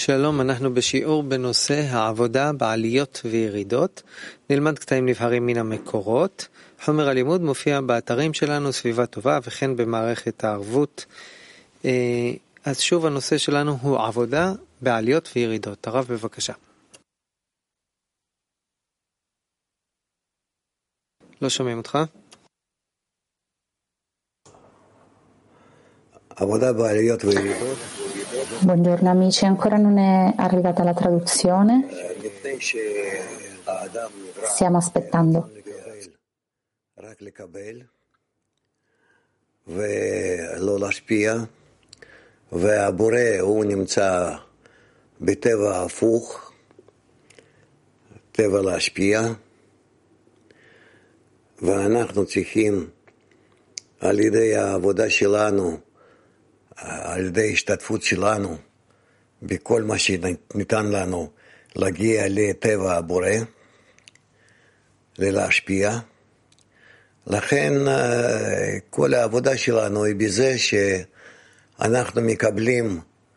שלום, אנחנו בשיעור בנושא העבודה בעליות וירידות. נלמד קטעים נבחרים מן המקורות. חומר הלימוד מופיע באתרים שלנו, סביבה טובה, וכן במערכת הערבות. אז שוב הנושא שלנו הוא עבודה בעליות וירידות. הרב, בבקשה. לא שומעים אותך. עבודה בעליות וירידות. Buongiorno amici, ancora non è arrivata la traduzione? Stiamo aspettando. ולא להשפיע, והבורא הוא נמצא בטבע הפוך, טבע להשפיע, ואנחנו צריכים על ידי העבודה שלנו, על ידי השתתפות שלנו בכל מה שניתן לנו להגיע לטבע הבורא, להשפיע. לכן כל העבודה שלנו היא בזה שאנחנו מקבלים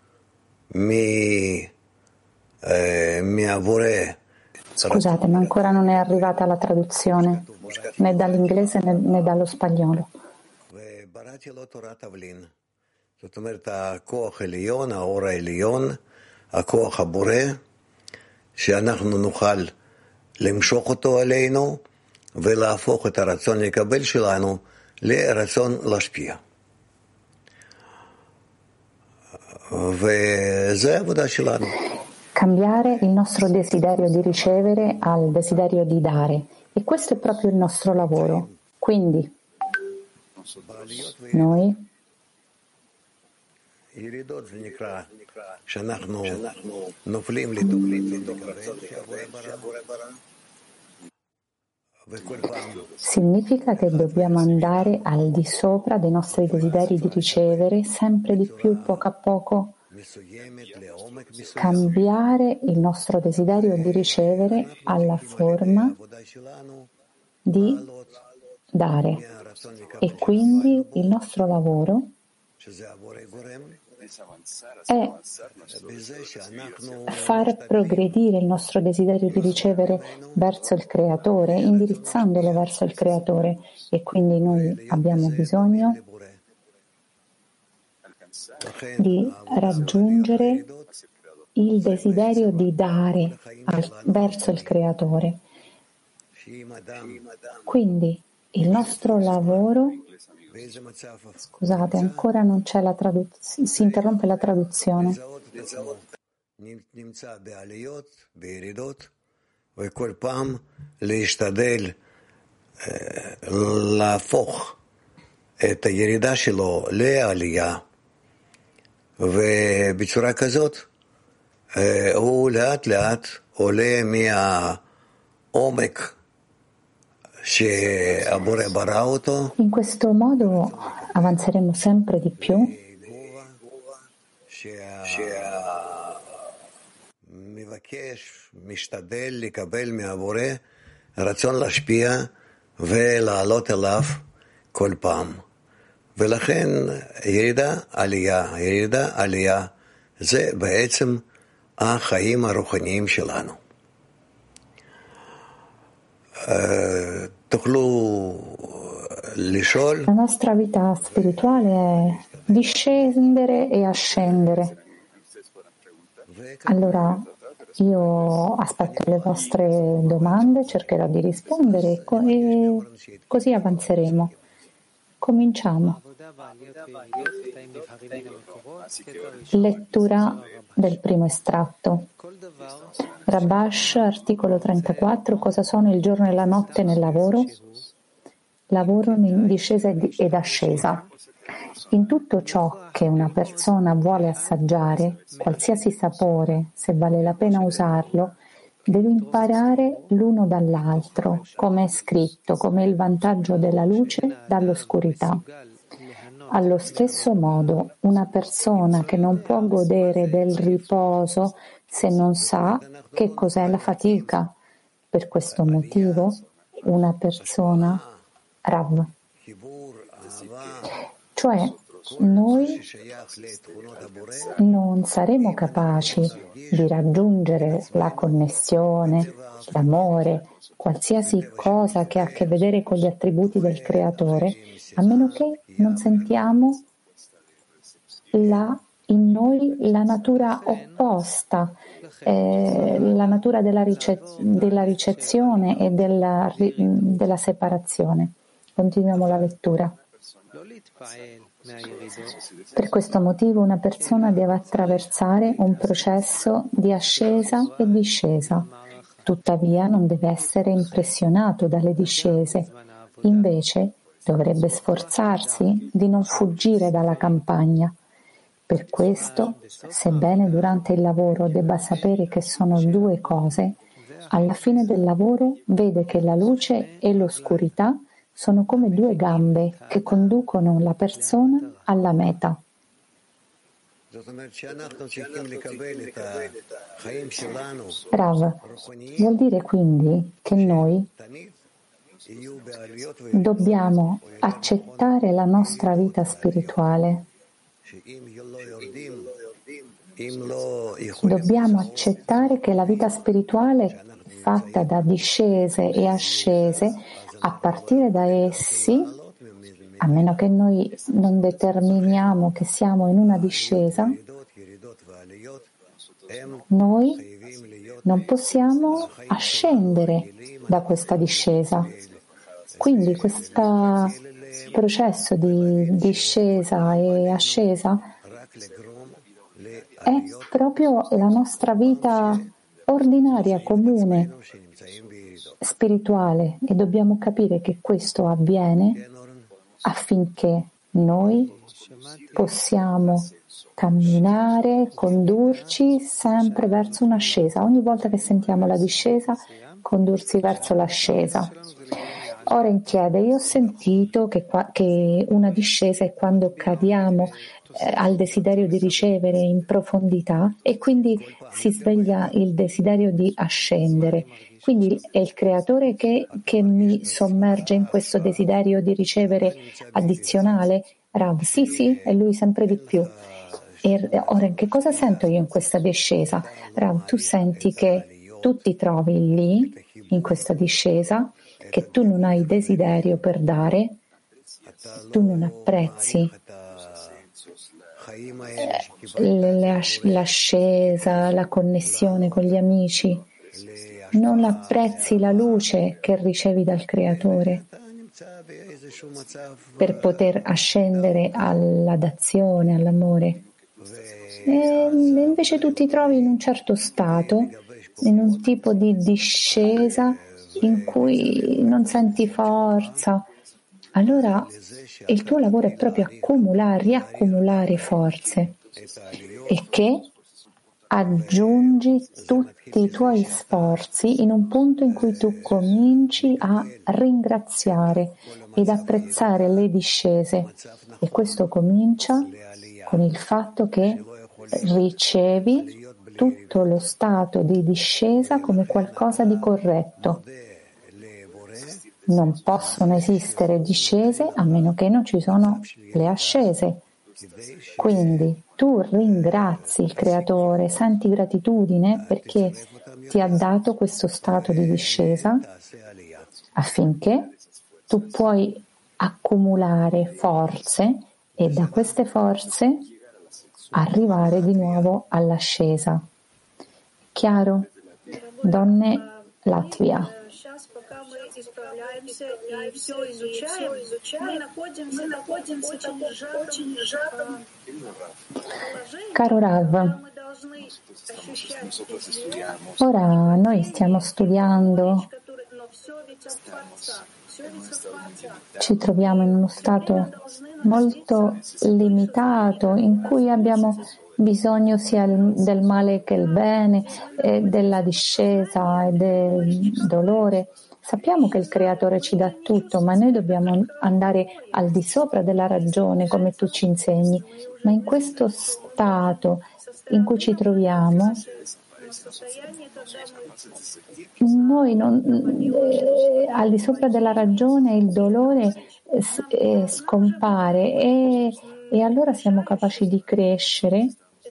מהבורא. Scusate, ma ancora non è arrivata la traduzione, né dall'inglese né dallo spagnolo. ובראתי לו תורת תבלין. זאת אומרת, הכוח העליון, האור העליון, הכוח הבורא, שאנחנו נוכל למשוך אותו עלינו ולהפוך את הרצון לקבל שלנו לרצון להשפיע. וזה העבודה שלנו. Cambiare il nostro desiderio di ricevere al desiderio di dare. E questo è proprio il nostro lavoro. Quindi, noi ירידות זה נקרא שאנחנו נופלים לתוכנית significa che dobbiamo andare al di sopra dei nostri desideri di ricevere sempre di più, poco a poco, cambiare il nostro desiderio di ricevere alla forma di dare. E quindi il nostro lavoro è far progredire il nostro desiderio di ricevere verso il Creatore, indirizzandolo verso il Creatore, e quindi noi abbiamo bisogno di raggiungere il desiderio di dare verso il Creatore. Quindi il nostro lavoro, scusate, ancora non c'è la traduzione, si interrompe la traduzione. וכל פעם להשתדל להפוך את הירידה שלו לעלייה, ובצורה כזאת הוא לאט לאט עולה מהעומק In questo modo avanzeremo sempre di più משתדל לקבל מהבורא רצון להשפיע ולעלות אליו כל פעם. ולכן ירידה עלייה זה בעצם החיים הרוחניים שלנו. La nostra vita spirituale è discendere e ascendere. Allora io aspetto le vostre domande, cercherò di rispondere e così avanzeremo. Cominciamo. Lettura del primo estratto. Rabash, articolo 34. Cosa sono il giorno e la notte nel lavoro? Lavoro in discesa ed ascesa. In tutto ciò che una persona vuole assaggiare, qualsiasi sapore, se vale la pena usarlo, deve imparare l'uno dall'altro, come è scritto, come il vantaggio della luce dall'oscurità. Allo stesso modo, una persona che non può godere del riposo se non sa che cos'è la fatica. Per questo motivo, una persona Rav, cioè noi non saremo capaci di raggiungere la connessione, l'amore, qualsiasi cosa che ha a che vedere con gli attributi del Creatore, a meno che non sentiamo in noi la natura opposta, la natura della ricezione e della separazione. Continuiamo la lettura. Per questo motivo una persona deve attraversare un processo di ascesa e discesa. Tuttavia non deve essere impressionato dalle discese. Invece dovrebbe sforzarsi di non fuggire dalla campagna. Per questo, sebbene durante il lavoro debba sapere che sono due cose, alla fine del lavoro vede che la luce e l'oscurità sono come due gambe che conducono la persona alla meta. Rav, vuol dire quindi che noi dobbiamo accettare la nostra vita spirituale. Dobbiamo accettare che la vita spirituale è fatta da discese e ascese. A partire da essi, a meno che noi non determiniamo che siamo in una discesa, noi non possiamo ascendere da questa discesa. Quindi questo processo di discesa e ascesa è proprio la nostra vita ordinaria, comune, spirituale, e dobbiamo capire che questo avviene affinché noi possiamo camminare, condurci sempre verso un'ascesa. Ogni volta che sentiamo la discesa, condursi verso l'ascesa. Oren chiede, io ho sentito che una discesa è quando cadiamo al desiderio di ricevere in profondità e quindi si sveglia il desiderio di ascendere. Quindi è il Creatore che mi sommerge in questo desiderio di ricevere addizionale? Rav, sì, è Lui sempre di più. E ora, che cosa sento io in questa discesa? Rav, tu senti che tu ti trovi lì, in questa discesa, che tu non hai desiderio per dare, tu non apprezzi l'ascesa, la connessione con gli amici, non apprezzi la luce che ricevi dal Creatore per poter ascendere alla dazione, all'amore. E invece tu ti trovi in un certo stato, in un tipo di discesa in cui non senti forza. Allora il tuo lavoro è proprio riaccumulare forze e che aggiungi tutti i tuoi sforzi in un punto in cui tu cominci a ringraziare ed apprezzare le discese, e questo comincia con il fatto che ricevi tutto lo stato di discesa come qualcosa di corretto. Non possono esistere discese a meno che non ci sono le ascese. Quindi tu ringrazi il Creatore, senti gratitudine perché ti ha dato questo stato di discesa affinché tu puoi accumulare forze e da queste forze arrivare di nuovo all'ascesa. Chiaro? Donne Latvia. Исправляемся и все изучаем, мы находимся в очень сжатом положении, Caro Rav, мы должны ощущать ora noi stiamo studiando, но все ведь от Творца. ci troviamo in uno stato molto limitato in cui abbiamo bisogno sia del male che il bene, della discesa e del dolore. Sappiamo che il Creatore ci dà tutto, ma noi dobbiamo andare al di sopra della ragione, come tu ci insegni. Ma in questo stato in cui ci troviamo, noi al di sopra della ragione il dolore scompare e e allora siamo capaci di crescere.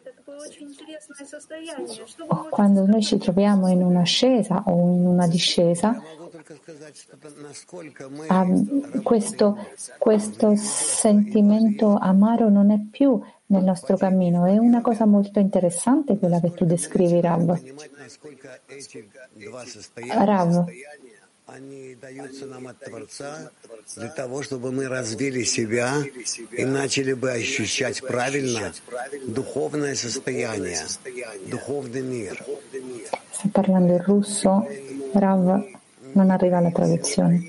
Quando noi ci troviamo in un'ascesa o in una discesa, questo sentimento amaro non è più nel nostro cammino. È una cosa molto interessante quella che tu descrivi, Rav. Они даются нам от Творца для того, чтобы мы развили себя и начали бы ощущать правильно духовное состояние, духовный мир. Sto parlando in russo, Rav non arriva alla traduzione.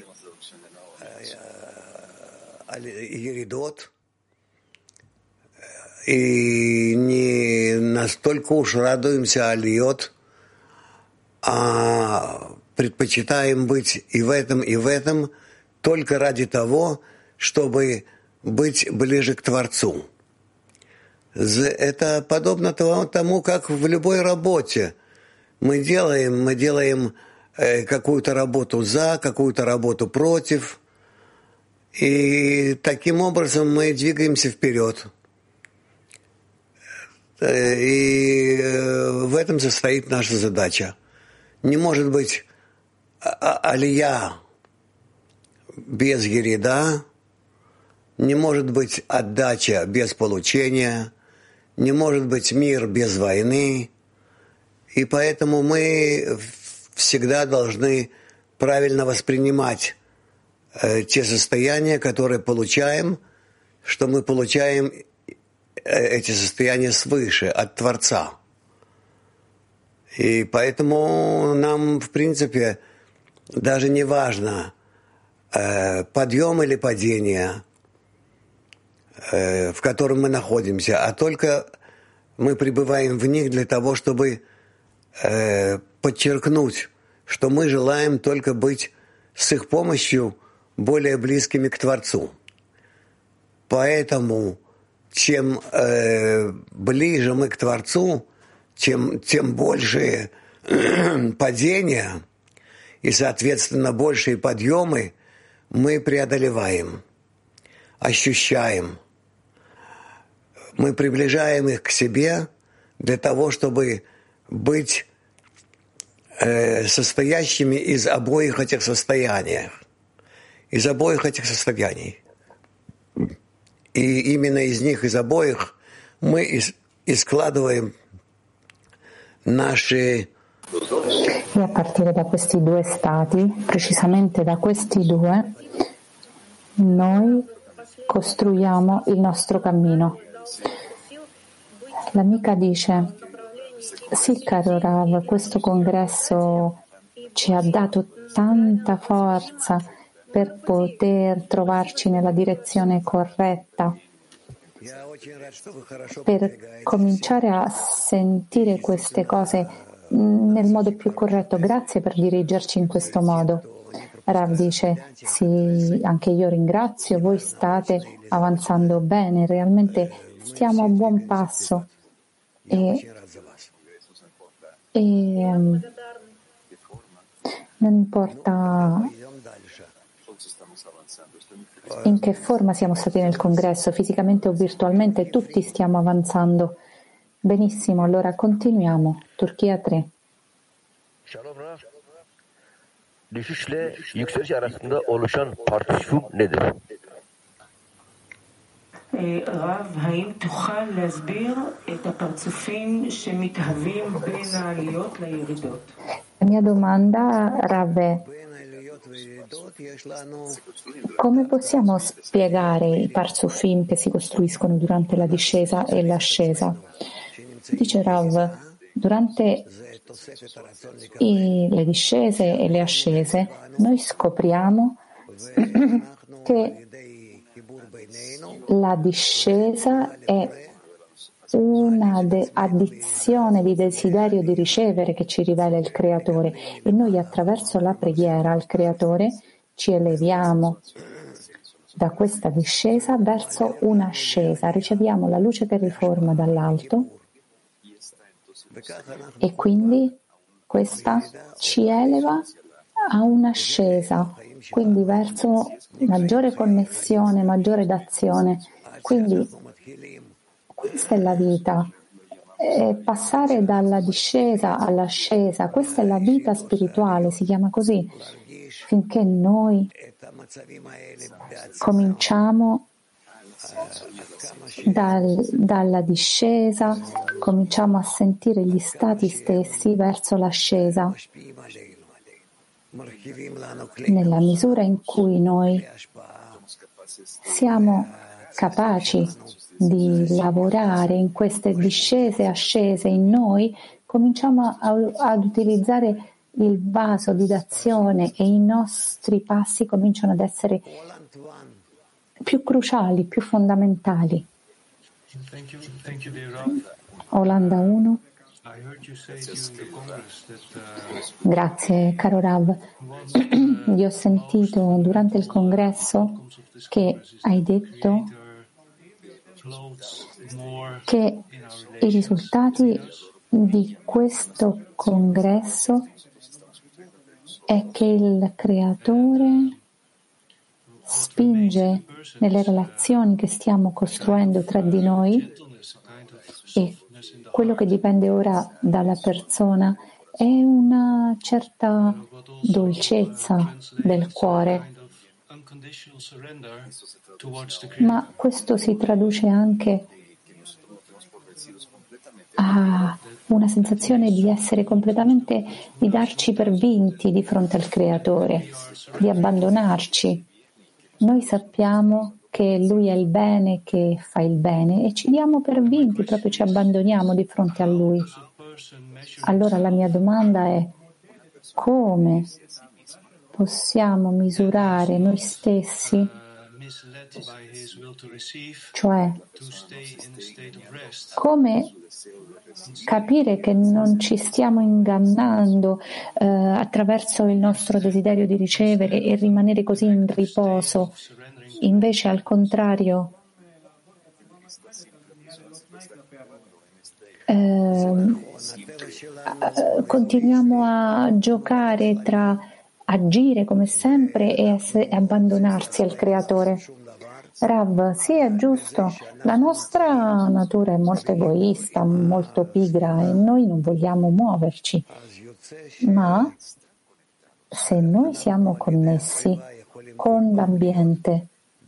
Еридот. И не настолько уж радуемся алиот, а предпочитаем быть и в этом только ради того, чтобы быть ближе к Творцу. Это подобно тому, как в любой работе. Мы делаем какую-то работу за, какую-то работу против, и таким образом мы двигаемся вперед. И в этом состоит наша задача. Не может быть алия без ерида, не может быть отдача без получения, не может быть мир без войны. И поэтому мы всегда должны правильно воспринимать те состояния, которые получаем, что мы получаем эти состояния свыше, от Творца. И поэтому нам, в принципе, даже не важно, подъем или падение, в котором мы находимся, а только мы пребываем в них для того, чтобы подчеркнуть, что мы желаем только быть с их помощью более близкими к Творцу. Поэтому чем ближе мы к Творцу, тем больше падения и, соответственно, большие подъемы мы преодолеваем, ощущаем. Мы приближаем их к себе для того, чтобы быть состоящими из обоих этих состояний. И именно из них, из обоих, мы и складываем наши... E a partire da questi due stati, precisamente da questi due, noi costruiamo il nostro cammino. L'amica dice: sì, caro Rav, questo congresso ci ha dato tanta forza per poter trovarci nella direzione corretta, per cominciare a sentire queste cose nel modo più corretto. Grazie per dirigerci in questo modo. Rav dice: sì, anche io ringrazio, voi state avanzando bene, realmente stiamo a buon passo e non importa in che forma siamo stati nel congresso, fisicamente o virtualmente, tutti stiamo avanzando. Benissimo, allora continuiamo. Turchia 3. Shalom Rav. Düşüşle yükseliş arasında oluşan partisifum nedir? רב, האם תוכל להסביר את הפרצופים שמתהווים בין העליות לירידות? La mia domanda, Rav, è: come possiamo spiegare i parzufim che si costruiscono durante la discesa e l'ascesa? Dice Rav, durante le discese e le ascese noi scopriamo che la discesa è una addizione di desiderio di ricevere che ci rivela il Creatore, e noi attraverso la preghiera al Creatore ci eleviamo da questa discesa verso un'ascesa, riceviamo la luce che riforma dall'alto e quindi questa ci eleva a un'ascesa, quindi verso maggiore connessione, maggiore d'azione. Quindi Questa è la vita. Passare dalla discesa all'ascesa, questa è la vita spirituale, si chiama così, finché noi cominciamo dalla discesa, cominciamo a sentire gli stati stessi verso l'ascesa. Nella misura in cui noi siamo capaci di lavorare in queste discese e ascese in noi, cominciamo ad utilizzare il vaso di d'azione e i nostri passi cominciano ad essere più cruciali, più fondamentali. Olanda 1. Grazie, caro Rav. Io ho sentito durante il congresso che hai detto che i risultati di questo congresso è che il creatore spinge nelle relazioni che stiamo costruendo tra di noi e quello che dipende ora dalla persona è una certa dolcezza del cuore. Ma questo si traduce anche a una sensazione di essere completamente, di darci per vinti di fronte al Creatore, di abbandonarci. Noi sappiamo che Lui è il bene, che fa il bene e ci diamo per vinti, proprio ci abbandoniamo di fronte a Lui. Allora la mia domanda è: come possiamo misurare noi stessi, cioè come capire che non ci stiamo ingannando attraverso il nostro desiderio di ricevere e rimanere così in riposo, invece al contrario continuiamo a giocare tra agire come sempre e abbandonarsi al Creatore. Rav, sì, è giusto, la nostra natura è molto egoista, molto pigra e noi non vogliamo muoverci, ma se noi siamo connessi con l'ambiente,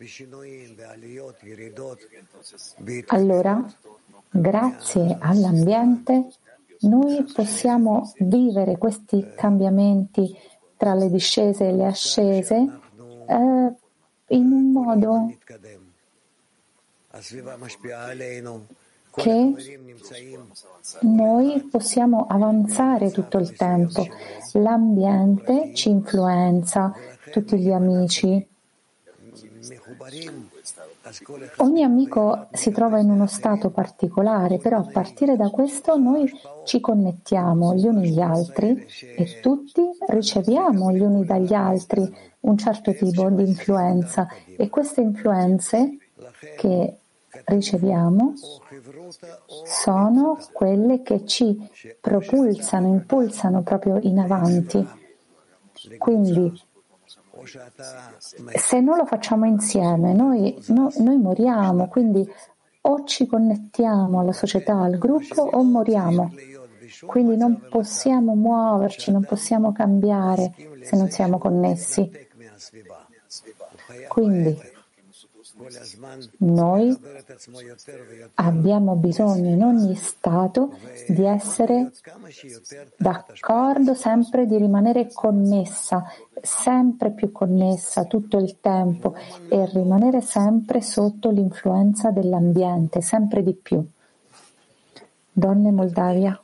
allora grazie all'ambiente noi possiamo vivere questi cambiamenti tra le discese e le ascese in un modo che noi possiamo avanzare tutto il tempo. L'ambiente ci influenza, tutti gli amici. Ogni amico si trova in uno stato particolare, però a partire da questo noi ci connettiamo gli uni agli altri e tutti riceviamo gli uni dagli altri un certo tipo di influenza e queste influenze che riceviamo sono quelle che ci propulsano, impulsano proprio in avanti. Quindi se non lo facciamo insieme, noi moriamo, quindi o ci connettiamo alla società, al gruppo, o moriamo. Quindi non possiamo muoverci, non possiamo cambiare se non siamo connessi. Quindi noi abbiamo bisogno in ogni stato di essere d'accordo, sempre di rimanere connessa, sempre più connessa tutto il tempo e rimanere sempre sotto l'influenza dell'ambiente, sempre di più. Donne Moldavia.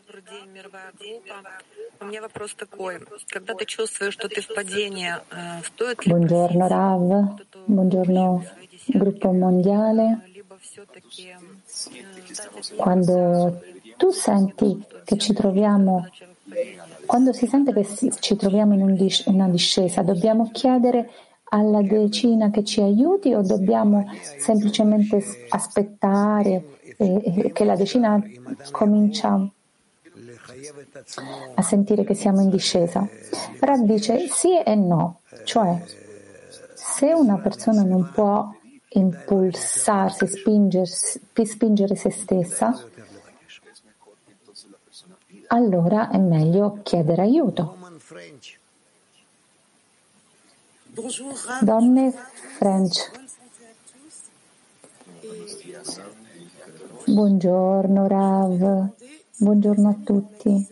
Buongiorno Rav, buongiorno gruppo mondiale. Quando tu senti che ci troviamo, quando si sente che ci troviamo in una discesa, dobbiamo chiedere alla decina che ci aiuti o dobbiamo semplicemente aspettare che la decina comincia a sentire che siamo in discesa? Rav dice sì e no, cioè se una persona non può impulsarsi, spingere se stessa, allora è meglio chiedere aiuto. Donne French. Buongiorno Rav, buongiorno a tutti.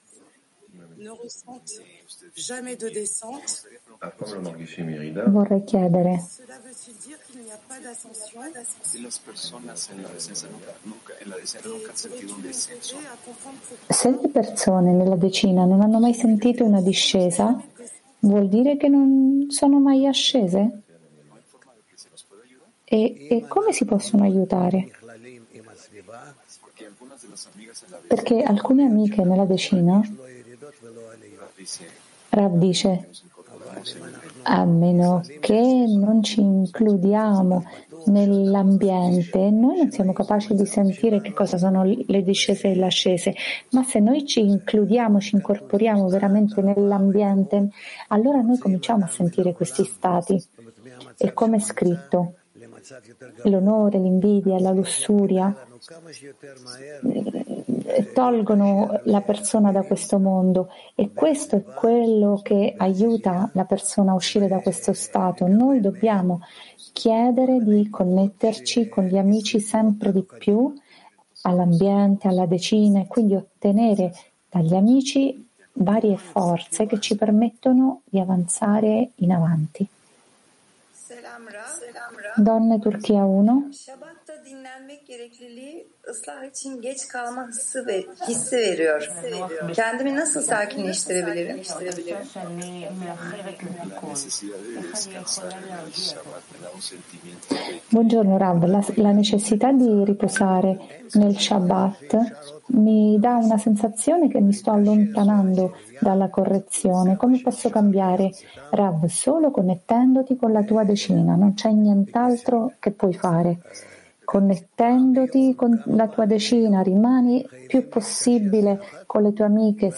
Vorrei chiedere, se le persone nella decina non hanno mai sentito una discesa, vuol dire che non sono mai ascese? E come si possono aiutare? Perché alcune amiche nella decina, Rav dice, a meno che non ci includiamo nell'ambiente, noi non siamo capaci di sentire che cosa sono le discese e le ascese, ma se noi ci includiamo, ci incorporiamo veramente nell'ambiente, allora noi cominciamo a sentire questi stati. E come è scritto, l'onore, l'invidia, la lussuria tolgono la persona da questo mondo, e questo è quello che aiuta la persona a uscire da questo stato. Noi dobbiamo chiedere di connetterci con gli amici sempre di più, all'ambiente, alla decina, e quindi ottenere dagli amici varie forze che ci permettono di avanzare in avanti. Donne Turchia 1. Şabat'ta dinlenmek gerekliliği ıslah için geç kalma hissi veriyor. Kendimi nasıl sakinleştirebilirim? Buongiorno Rav, la necessità di riposare nel Shabbat mi dà una sensazione che mi sto allontanando dalla correzione. Come posso cambiare? Rav, solo connettendoti con la tua decina, non c'è nient'altro che puoi fare. Connettendoti con la tua decina, rimani più possibile con le tue amiche,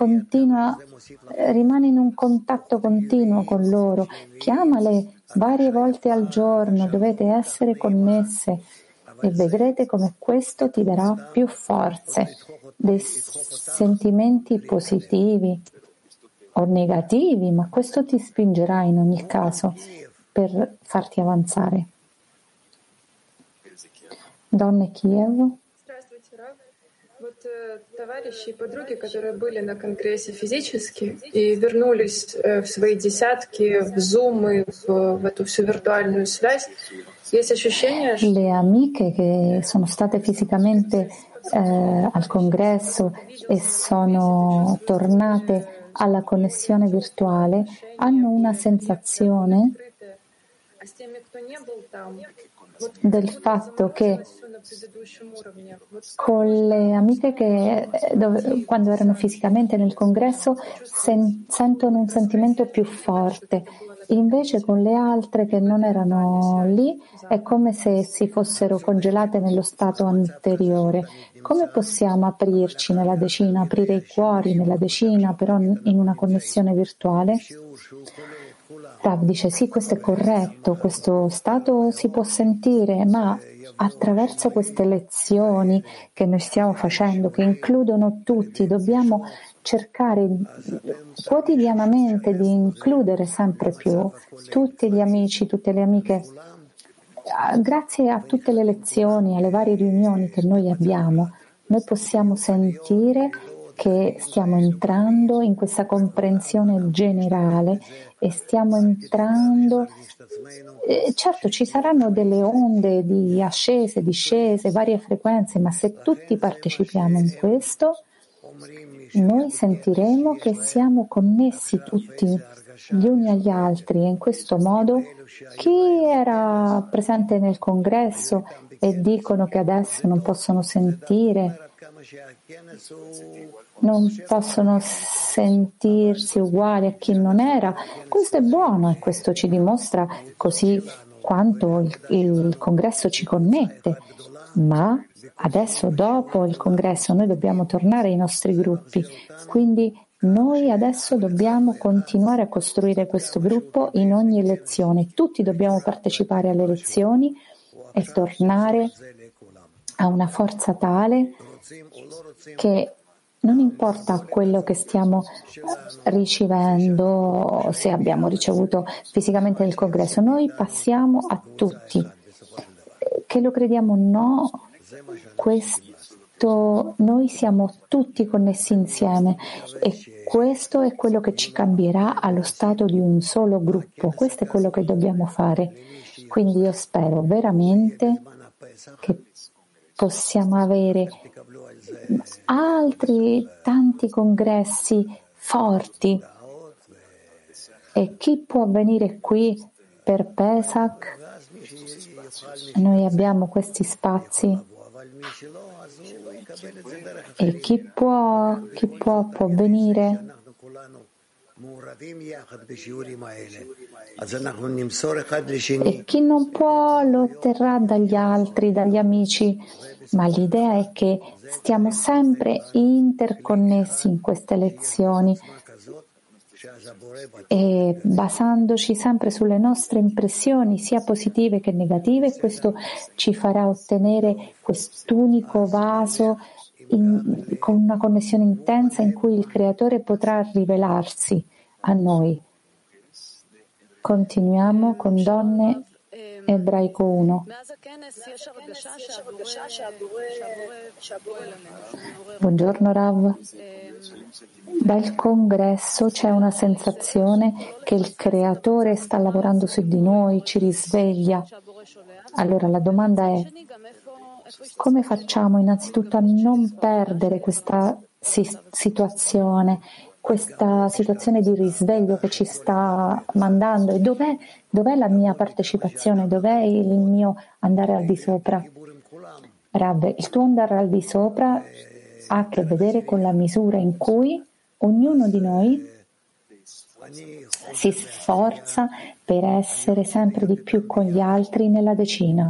rimani in un contatto continuo con loro, chiamale varie volte al giorno, dovete essere connesse e vedrete come questo ti darà più forze, dei sentimenti positivi o negativi, ma questo ti spingerà in ogni caso per farti avanzare. Donne Kiev. Товарищи и подруги, которые были на конгрессе физически и вернулись в свои десятки, в Zoom и в эту всю виртуальную связь, есть ощущение, что... Le amiche che sono state fisicamente al congresso e sono tornate alla connessione virtuale hanno una sensazione del fatto che con le amiche che quando erano fisicamente nel congresso sentono un sentimento più forte, invece con le altre che non erano lì è come se si fossero congelate nello stato anteriore. Come possiamo aprirci nella decina, aprire i cuori nella decina, però in una connessione virtuale? Rav dice sì, questo è corretto, questo stato si può sentire, ma attraverso queste lezioni che noi stiamo facendo, che includono tutti, dobbiamo cercare quotidianamente di includere sempre più tutti gli amici, tutte le amiche. Grazie a tutte le lezioni, alle varie riunioni che noi abbiamo, noi possiamo sentire che stiamo entrando in questa comprensione generale e stiamo entrando, certo ci saranno delle onde di ascese, discese, varie frequenze, ma se tutti partecipiamo in questo, noi sentiremo che siamo connessi tutti gli uni agli altri, e in questo modo chi era presente nel congresso e dicono che adesso non possono sentire, non possono sentirsi uguali a chi non era, questo è buono e questo ci dimostra così quanto il congresso ci connette, ma adesso dopo il congresso noi dobbiamo tornare ai nostri gruppi, quindi Noi adesso dobbiamo continuare a costruire questo gruppo in ogni lezione. Tutti dobbiamo partecipare alle lezioni e tornare a una forza tale che non importa quello che stiamo ricevendo, se abbiamo ricevuto fisicamente nel congresso, noi passiamo a tutti. Che lo crediamo o no, noi siamo tutti connessi insieme e questo è quello che ci cambierà allo stato di un solo gruppo. Questo è quello che dobbiamo fare. Quindi io spero veramente che possiamo avere altri tanti congressi forti. E chi può venire qui per Pesach? Noi abbiamo questi spazi. E chi può venire? E chi non può lo otterrà dagli altri, dagli amici. Ma l'idea è che stiamo sempre interconnessi in queste lezioni e basandoci sempre sulle nostre impressioni, sia positive che negative, questo ci farà ottenere quest'unico vaso con una connessione intensa in cui il Creatore potrà rivelarsi a noi. Continuiamo con Donne Ebraico 1. Buongiorno Rav. Dal congresso c'è una sensazione che il Creatore sta lavorando su di noi, ci risveglia. Allora la domanda è: come facciamo innanzitutto a non perdere questa situazione di risveglio che ci sta mandando? E dov'è la mia partecipazione? Dov'è il mio andare al di sopra? Rav, il tuo andare al di sopra ha a che vedere con la misura in cui ognuno di noi si sforza per essere sempre di più con gli altri nella decina.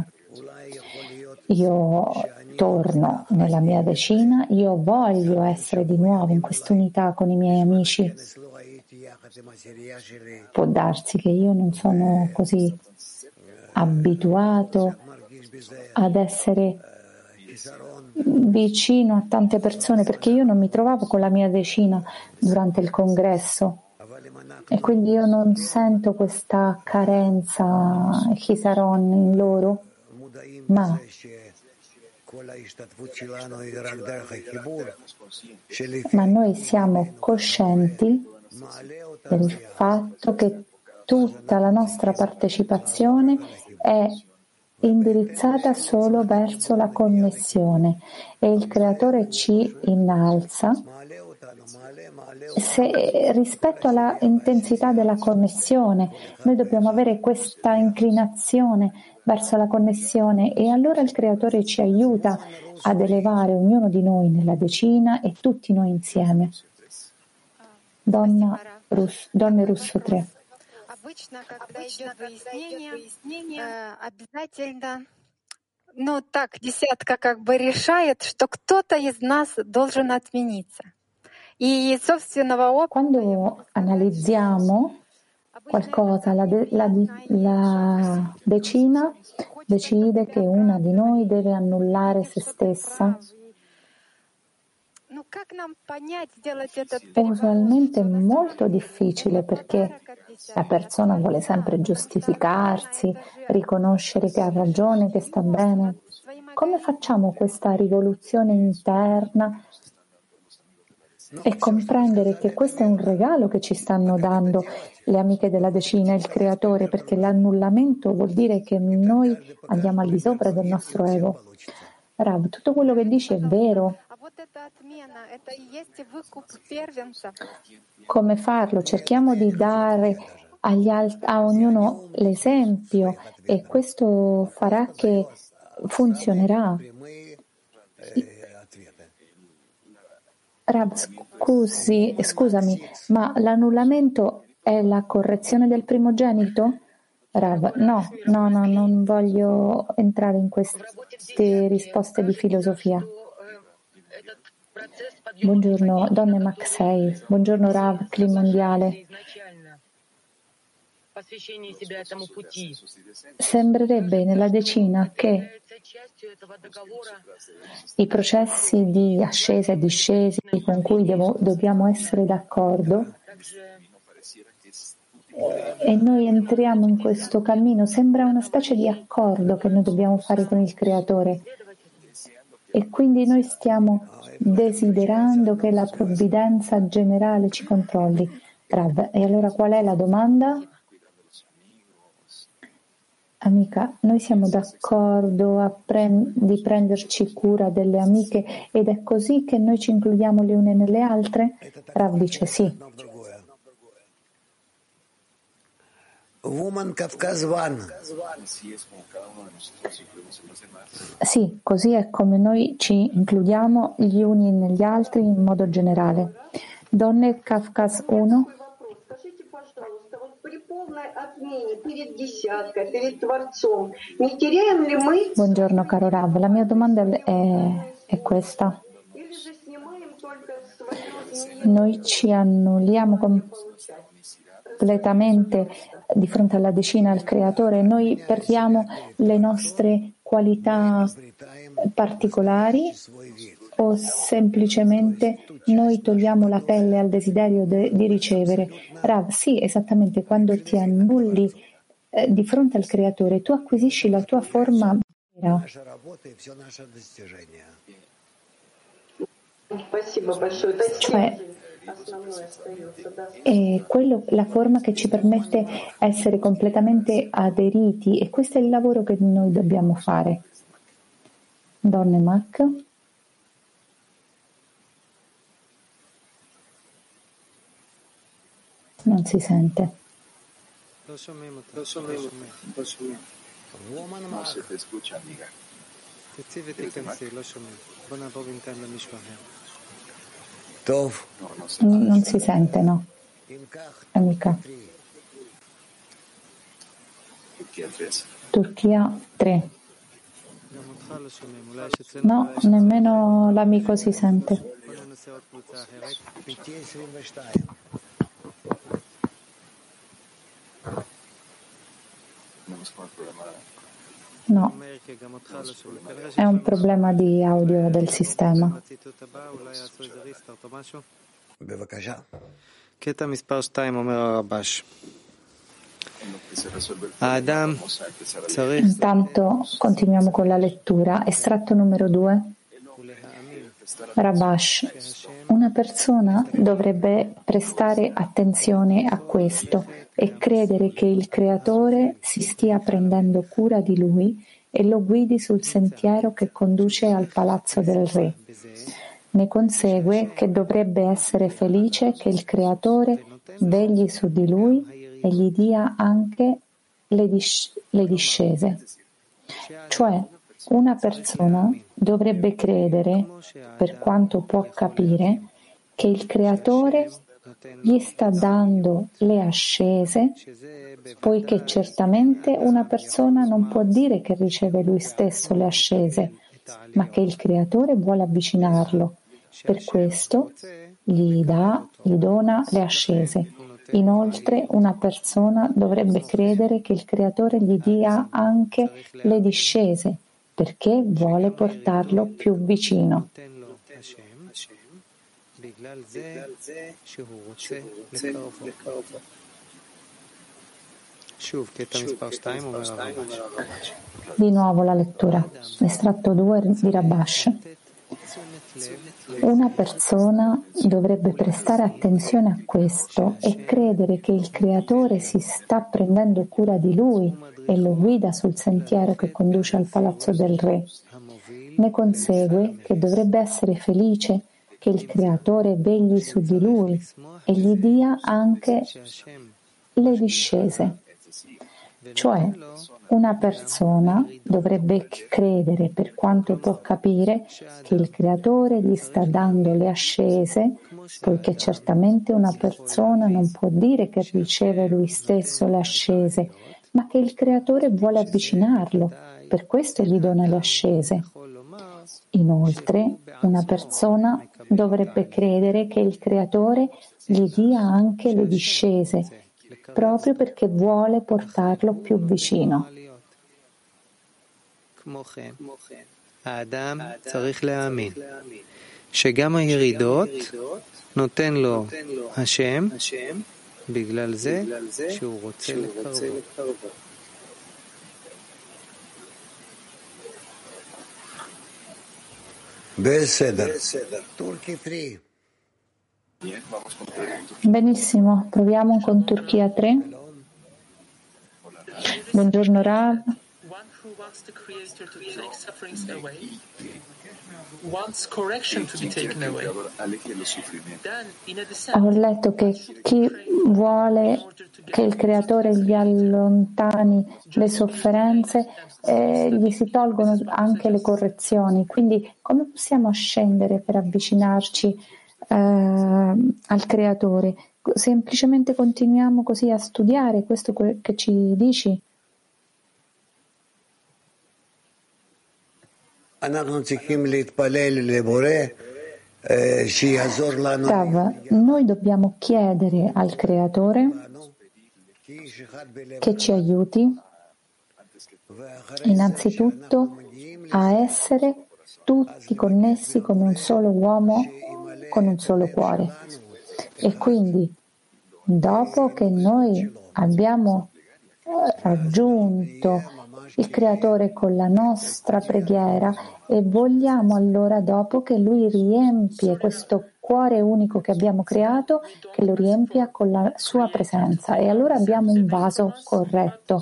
Io torno nella mia decina, io voglio essere di nuovo in quest'unità con i miei amici. Può darsi che io non sono così abituato ad essere vicino a tante persone perché io non mi trovavo con la mia decina durante il congresso e quindi io non sento questa carenza chisaron in loro, ma noi siamo coscienti del fatto che tutta la nostra partecipazione è indirizzata solo verso la connessione e il Creatore ci innalza rispetto alla intensità della connessione. Noi dobbiamo avere questa inclinazione verso la connessione e allora il Creatore ci aiuta ad elevare ognuno di noi nella decina e tutti noi insieme. Donne Russo 3. Обычно, когда идет выяснение, обязательно, десятка решает, что кто-то из нас должен отмениться. И собственного опыта... Quando analizziamo qualcosa, la decina decide che una di noi deve annullare se stessa. Usualmente è molto difficile perché la persona vuole sempre giustificarsi, riconoscere che ha ragione, che sta bene. Come facciamo questa rivoluzione interna e comprendere che questo è un regalo che ci stanno dando le amiche della decina, il Creatore, perché l'annullamento vuol dire che noi andiamo al di sopra del nostro ego. Rav, tutto quello che dici è vero. Come farlo? Cerchiamo di dare a ognuno l'esempio e questo farà che funzionerà. Rav, scusami, ma l'annullamento è la correzione del primogenito? Rav, no, non voglio entrare in queste risposte di filosofia. Buongiorno, donne Maxei. Buongiorno Rav, Cli Mondiale. Sembrerebbe nella decina che i processi di ascesa e discesi con cui dobbiamo essere d'accordo e noi entriamo in questo cammino, sembra una specie di accordo che noi dobbiamo fare con il Creatore e quindi noi stiamo desiderando che la provvidenza generale ci controlli. Rav, e allora qual è la domanda? Amica, noi siamo d'accordo di prenderci cura delle amiche ed è così che noi ci includiamo le une nelle altre? Rav dice sì. Woman Kafkaz One. Sì, così è come noi ci includiamo gli uni negli altri in modo generale. Donne Kafkaz 1. Buongiorno caro Rav, la mia domanda è questa. Noi ci annulliamo completamente di fronte alla decina al Creatore, noi perdiamo le nostre qualità particolari o semplicemente noi togliamo la pelle al desiderio di ricevere? Rav, sì, esattamente, quando ti annulli di fronte al Creatore, tu acquisisci la tua forma vera. Cioè, è la forma che ci permette essere completamente aderiti e questo è il lavoro che noi dobbiamo fare. Donne Mac. Non si sente. Non si sente, no. Amica. Turchia 3. No, nemmeno l'amico si sente. No, è un problema di audio del sistema. Intanto continuiamo con la lettura. Estratto numero 2. Rabash. Una persona dovrebbe prestare attenzione a questo e credere che il Creatore si stia prendendo cura di lui e lo guidi sul sentiero che conduce al palazzo del re. Ne consegue che dovrebbe essere felice che il Creatore vegli su di lui e gli dia anche le discese. Cioè, una persona dovrebbe credere, per quanto può capire, che il Creatore gli sta dando le ascese, poiché certamente una persona non può dire che riceve lui stesso le ascese, ma che il Creatore vuole avvicinarlo. Per questo gli dona le ascese. Inoltre una persona dovrebbe credere che il Creatore gli dia anche le discese, perché vuole portarlo più vicino. Di nuovo la lettura. Estratto 2 di Rabash. Una persona dovrebbe prestare attenzione a questo e credere che il Creatore si sta prendendo cura di lui e lo guida sul sentiero che conduce al palazzo del re. Ne consegue che dovrebbe essere felice che il Creatore vegli su di lui e gli dia anche le discese. Cioè, una persona dovrebbe credere, per quanto può capire, che il Creatore gli sta dando le ascese, poiché certamente una persona non può dire che riceve lui stesso le ascese, ma che il Creatore vuole avvicinarlo, per questo gli dona le ascese. Inoltre, una persona dovrebbe credere che il Creatore gli dia anche le discese, proprio perché vuole portarlo più vicino. האדם צריך להאמין שגם הירידות נותן לו השם בגלל זה שהוא רוצה לקרבו. Benissimo, proviamo con Turchia 3. Buongiorno Rav. Wants the Creator to take sufferings away, wants correction to be taken away. Then, in a descent, Ho letto che chi vuole che il Creatore gli allontani le sofferenze, gli si tolgono anche le correzioni. Quindi come possiamo ascendere per avvicinarci al Creatore? Semplicemente continuiamo così a studiare questo che ci dici? Rav, noi dobbiamo chiedere al Creatore che ci aiuti innanzitutto a essere tutti connessi come un solo uomo, con un solo cuore. E quindi, dopo che noi abbiamo raggiunto il Creatore con la nostra preghiera e vogliamo allora dopo che Lui riempie questo cuore unico che abbiamo creato, che lo riempia con la sua presenza e allora abbiamo un vaso corretto.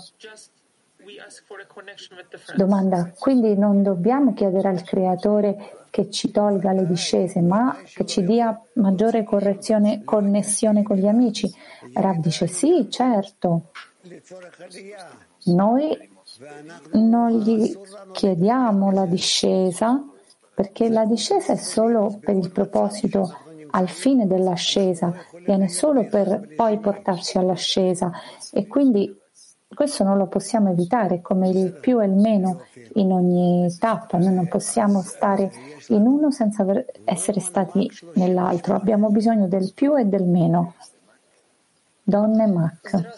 Domanda, quindi non dobbiamo chiedere al Creatore che ci tolga le discese, ma che ci dia maggiore connessione con gli amici? Rav dice sì, certo. Noi non gli chiediamo la discesa perché la discesa è solo per il proposito al fine dell'ascesa, viene solo per poi portarci all'ascesa e quindi questo non lo possiamo evitare, come il più e il meno in ogni tappa. Noi non possiamo stare in uno senza essere stati nell'altro, abbiamo bisogno del più e del meno. Donne Mac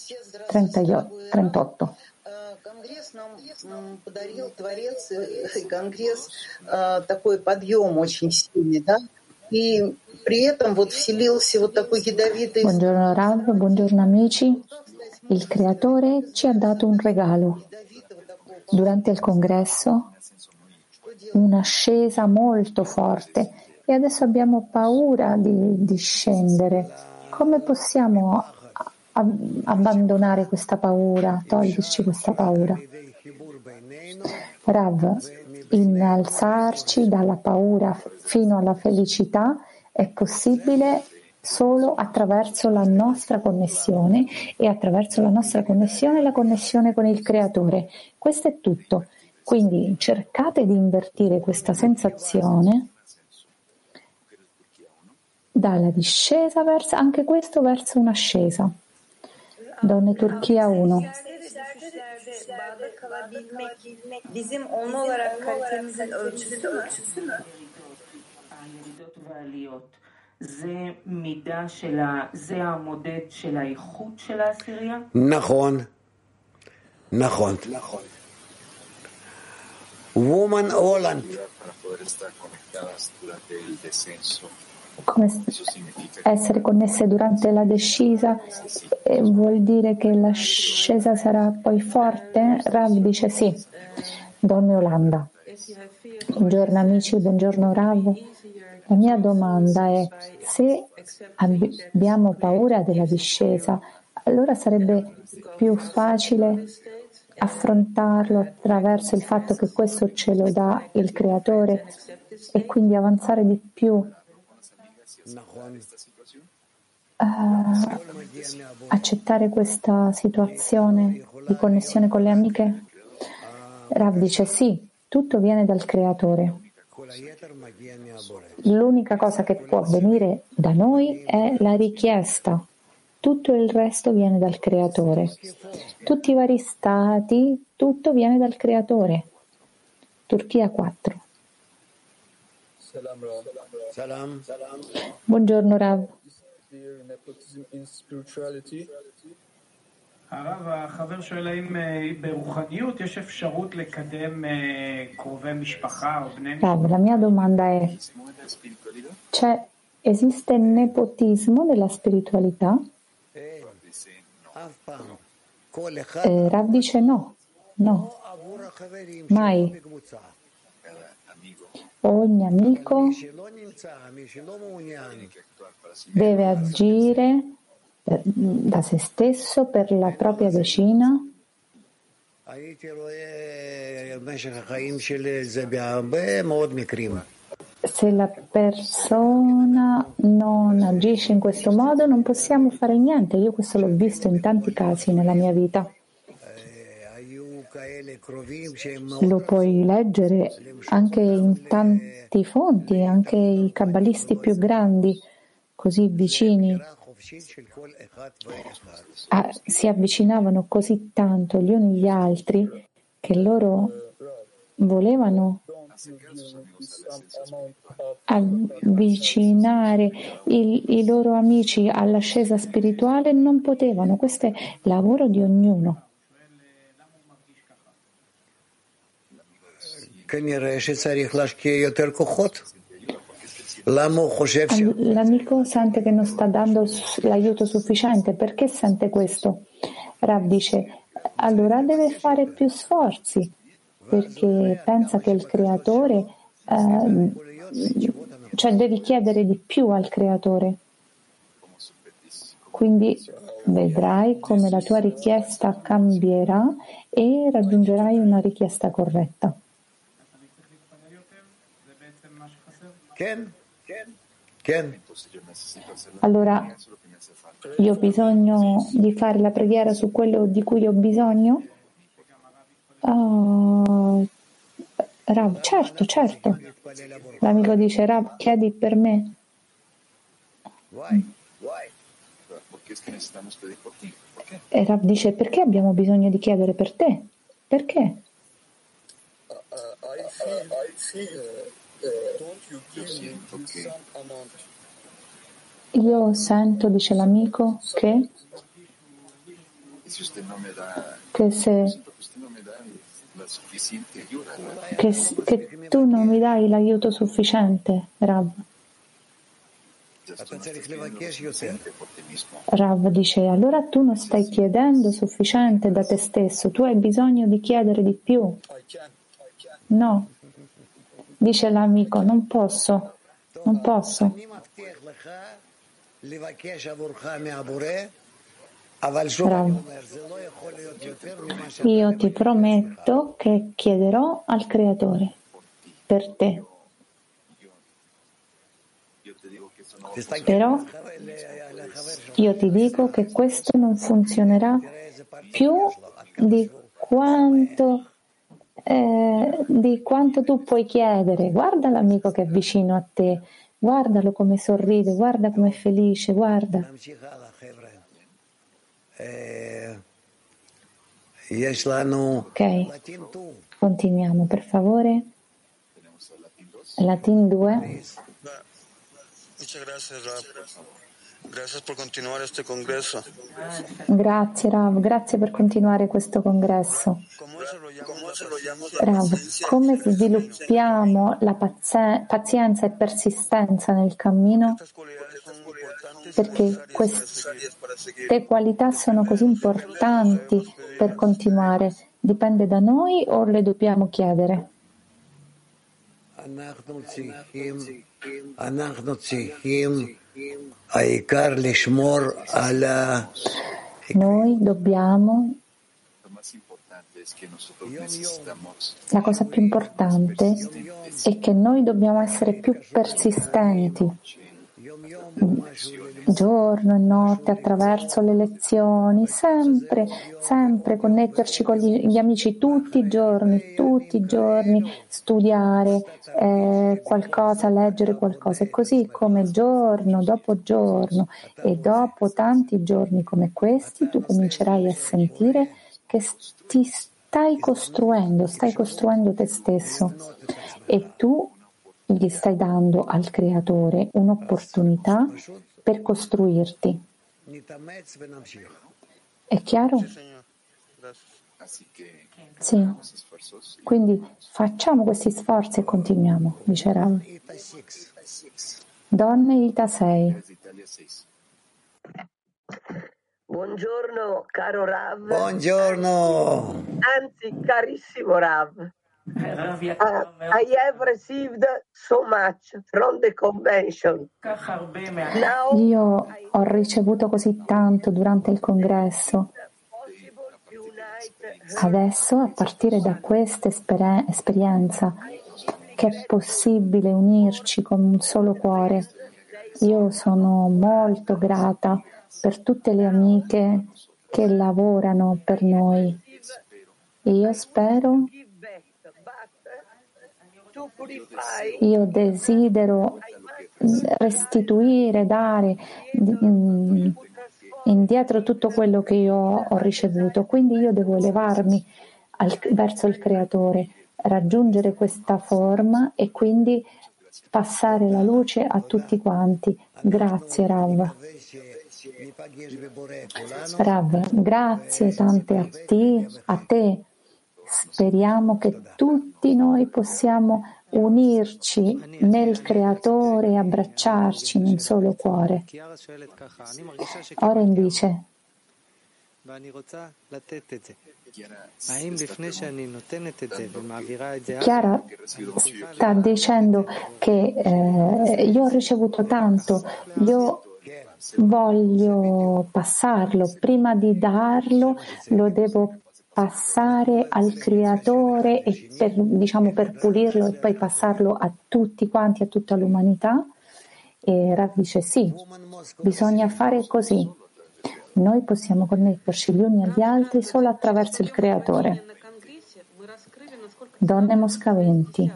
38. Конгресс нам подарил Творец, Конгресс такой подъем очень сильный, да? И при этом вот вселился вот такой ядовитый... Buongiorno Rav, buongiorno amici. Il Creatore ci ha dato un regalo. Durante il congresso, un'ascesa molto forte e adesso abbiamo paura di scendere. Come possiamo abbandonare questa paura, toglierci questa paura? Rav, innalzarci dalla paura fino alla felicità è possibile solo attraverso la nostra connessione e attraverso la nostra connessione la connessione con il Creatore. Questo è tutto. Quindi cercate di invertire questa sensazione dalla discesa verso anche questo verso un'ascesa. Donne Turchia 1. Bizim onlu olarak kalitemizin ölçüsü mü? נכון. Woman Holland. Come essere connesse durante la discesa vuol dire che l'ascesa sarà poi forte? Rav dice sì. Donne Olanda. Buongiorno amici, buongiorno Rav. La mia domanda è: se abbiamo paura della discesa, allora sarebbe più facile affrontarlo attraverso il fatto che questo ce lo dà il Creatore e quindi avanzare di più, accettare questa situazione di connessione con le amiche? Rav dice sì, tutto viene dal Creatore. L'unica cosa che può venire da noi è la richiesta. Tutto il resto viene dal Creatore. Tutti i vari stati, tutto viene dal Creatore. Turchia 4. Salam. Buongiorno Rav. הרב, החבר שואל האם ברוחניות יש אפשרות לקדם קרובי משפחה או בני משפחה? Rav, la mia domanda è, esiste nepotismo nella spiritualità? Rav dice no, mai. Ogni amico deve agire da se stesso per la propria decina. Se la persona non agisce in questo modo non possiamo fare niente. Io questo l'ho visto in tanti casi nella mia vita. Lo puoi leggere anche in tanti fonti, anche i kabbalisti più grandi, così vicini, si avvicinavano così tanto gli uni agli altri che loro volevano avvicinare i loro amici all'ascesa spirituale e non potevano. Questo è lavoro di ognuno. L'amico sente che non sta dando l'aiuto sufficiente. Perché sente questo? Rav dice, allora deve fare più sforzi, perché pensa che il creatore, cioè devi chiedere di più al creatore. Quindi vedrai come la tua richiesta cambierà e raggiungerai una richiesta corretta. Allora, io ho bisogno di fare la preghiera su quello di cui ho bisogno? Rav, certo. L'amico dice, Rav, chiedi per me. E Rav dice, perché abbiamo bisogno di chiedere per te? Perché? Io sento, dice l'amico, che tu non mi dai l'aiuto sufficiente, Rav. Rav dice, allora tu non stai chiedendo sufficiente da te stesso, tu hai bisogno di chiedere di più. No, dice l'amico, non posso. Rav, io ti prometto che chiederò al creatore per te. Però io ti dico che questo non funzionerà più di quanto tu puoi chiedere. Guarda l'amico che è vicino a te, guardalo come sorride, guarda come è felice, guarda. Ok, continuiamo per favore. Latin 2. Muchas gracias, Rav. Gracias por continuar este congreso. Grazie Rav, grazie per continuare questo congresso. Rav, come sviluppiamo la pazienza e persistenza nel cammino? Perché queste qualità sono così importanti per continuare. Dipende da noi o le dobbiamo chiedere? Noi dobbiamo, la cosa più importante è che noi dobbiamo essere più persistenti giorno e notte attraverso le lezioni, sempre connetterci con gli amici tutti i giorni, studiare qualcosa, leggere qualcosa, e così come giorno dopo giorno e dopo tanti giorni come questi tu comincerai a sentire che stai costruendo te stesso e tu gli stai dando al Creatore un'opportunità per costruirti. È chiaro? Sì. Quindi facciamo questi sforzi e continuiamo, dice Rav. Donne Ita 6. Buongiorno caro Rav. Buongiorno. Anzi, carissimo Rav. I have received so much from the convention. Io ho ricevuto così tanto durante il congresso. Adesso, a partire da questa esperienza, che è possibile unirci con un solo cuore, io sono molto grata per tutte le amiche che lavorano per noi. Io spero, io desidero restituire, dare indietro tutto quello che io ho ricevuto. Quindi io devo elevarmi verso il Creatore, raggiungere questa forma e quindi passare la luce a tutti quanti. Grazie Rav. Rav, grazie tante a te. Speriamo che tutti noi possiamo unirci nel Creatore e abbracciarci in un solo cuore. Oren dice: Chiara sta dicendo che io ho ricevuto tanto, io voglio passarlo, prima di darlo lo devo passare al Creatore e per pulirlo e poi passarlo a tutti quanti, a tutta l'umanità. E Rav dice sì, bisogna fare così. Noi possiamo connetterci gli uni agli altri solo attraverso il Creatore. Donne Moscaventi,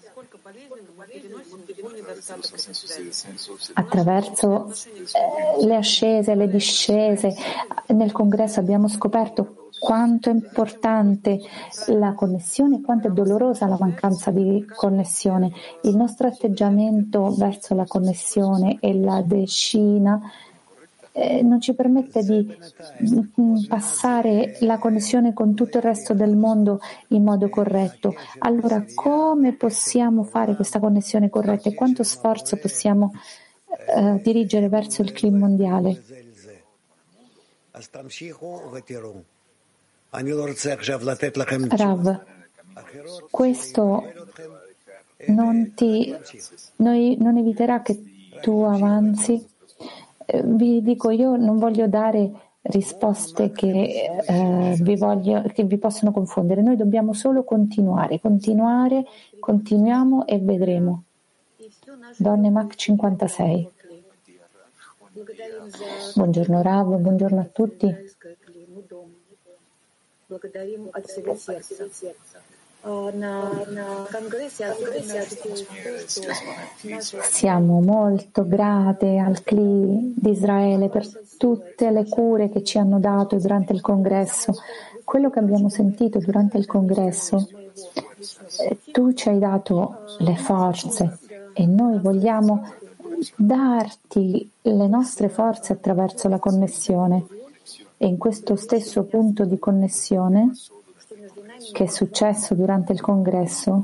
attraverso le ascese, le discese, nel congresso abbiamo scoperto quanto è importante la connessione e quanto è dolorosa la mancanza di connessione. Il nostro atteggiamento verso la connessione e la decina non ci permette di passare la connessione con tutto il resto del mondo in modo corretto. Allora, come possiamo fare questa connessione corretta e quanto sforzo possiamo dirigere verso il clima mondiale? Rav, questo non eviterà che tu avanzi. Vi dico, io non voglio dare risposte che vi possono confondere. Noi dobbiamo solo continuiamo e vedremo. Donne Mac 56. Buongiorno Rav, buongiorno a tutti. Siamo molto grate al CLI di Israele per tutte le cure che ci hanno dato durante il congresso. Quello che abbiamo sentito durante il congresso, tu ci hai dato le forze e noi vogliamo darti le nostre forze attraverso la connessione. E in questo stesso punto di connessione che è successo durante il congresso,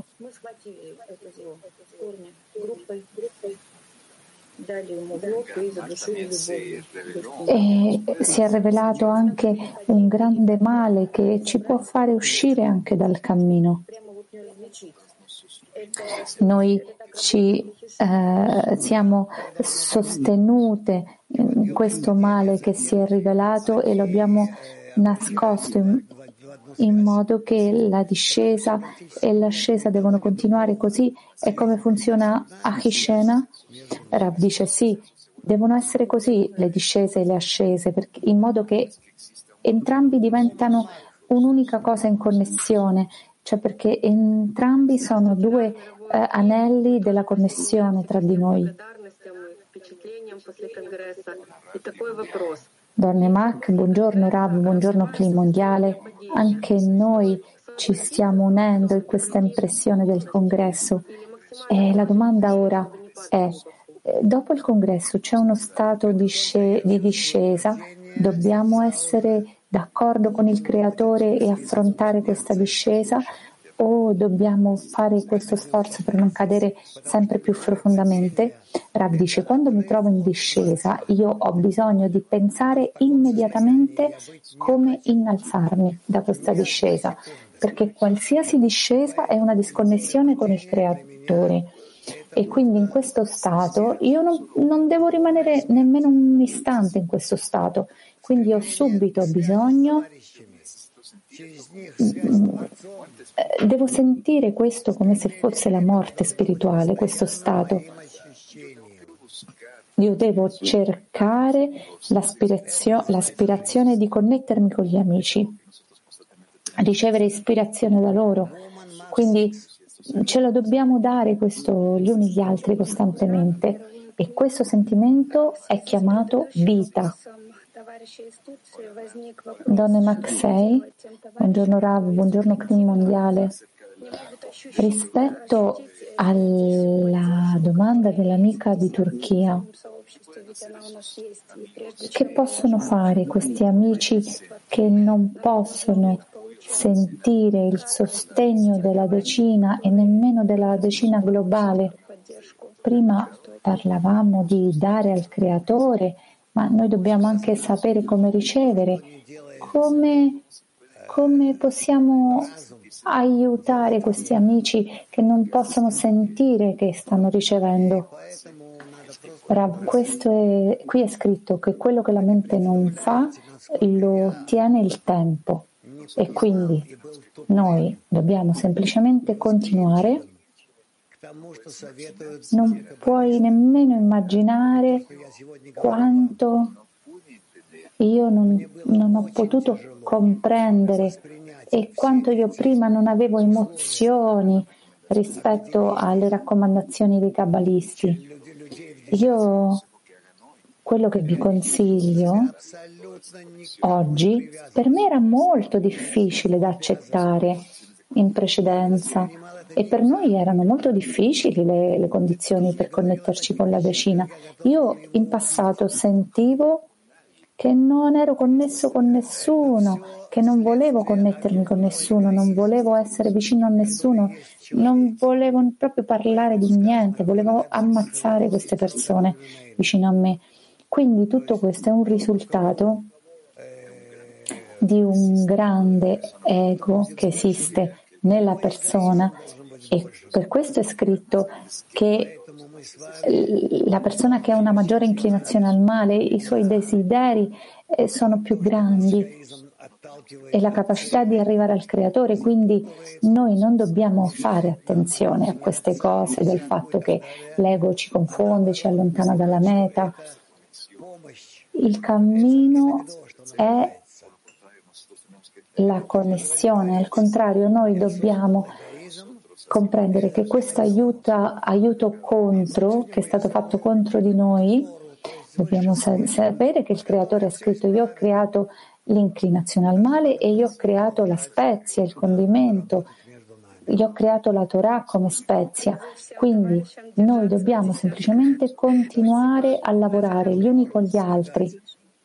e si è rivelato anche un grande male che ci può fare uscire anche dal cammino. Noi ci siamo sostenute in questo male che si è rivelato e lo abbiamo nascosto in modo che la discesa e l'ascesa devono continuare. Così è come funziona Achishena? Rav dice sì, devono essere così le discese e le ascese, in modo che entrambi diventano un'unica cosa in connessione, cioè perché entrambi sono due anelli della connessione tra di noi. Donne Mac, buongiorno Rav, buongiorno Clima Mondiale. Anche noi ci stiamo unendo in questa impressione del congresso E la domanda ora è, dopo il congresso c'è uno stato di discesa, dobbiamo essere d'accordo con il creatore e affrontare questa discesa o dobbiamo fare questo sforzo per non cadere sempre più profondamente? Rav dice, quando mi trovo in discesa io ho bisogno di pensare immediatamente come innalzarmi da questa discesa, perché qualsiasi discesa è una disconnessione con il creatore. E quindi in questo stato io non devo rimanere nemmeno un istante in questo stato, quindi ho subito bisogno, devo sentire questo come se fosse la morte spirituale, questo stato. Io devo cercare l'aspirazione di connettermi con gli amici, ricevere ispirazione da loro, quindi ce lo dobbiamo dare questo gli uni gli altri costantemente e questo sentimento è chiamato vita. Donne Maxei, buongiorno Rav, buongiorno Crim Mondiale. Rispetto alla domanda dell'amica di Turchia, che possono fare questi amici che non possono sentire il sostegno della decina e nemmeno della decina globale? Prima parlavamo di dare al creatore, ma noi dobbiamo anche sapere come ricevere, come possiamo aiutare questi amici che non possono sentire che stanno ricevendo. Rav, qui è scritto che quello che la mente non fa lo ottiene il tempo e quindi noi dobbiamo semplicemente continuare. Non puoi nemmeno immaginare quanto io non ho potuto comprendere e quanto io prima non avevo emozioni rispetto alle raccomandazioni dei kabbalisti. Io quello che vi consiglio oggi per me era molto difficile da accettare in precedenza e per noi erano molto difficili le condizioni per connetterci con la decina. Io in passato sentivo che non ero connesso con nessuno, che non volevo connettermi con nessuno, non volevo essere vicino a nessuno, non volevo proprio parlare di niente, volevo ammazzare queste persone vicino a me. Quindi tutto questo è un risultato di un grande ego che esiste nella persona e per questo è scritto che la persona che ha una maggiore inclinazione al male, i suoi desideri sono più grandi e la capacità di arrivare al creatore, quindi noi non dobbiamo fare attenzione a queste cose del fatto che l'ego ci confonde, ci allontana dalla meta. Il cammino è la connessione, al contrario noi dobbiamo comprendere che questo aiuto contro, che è stato fatto contro di noi, dobbiamo sapere che il creatore ha scritto: io ho creato l'inclinazione al male e io ho creato la spezia, il condimento, io ho creato la Torah come spezia, quindi noi dobbiamo semplicemente continuare a lavorare gli uni con gli altri.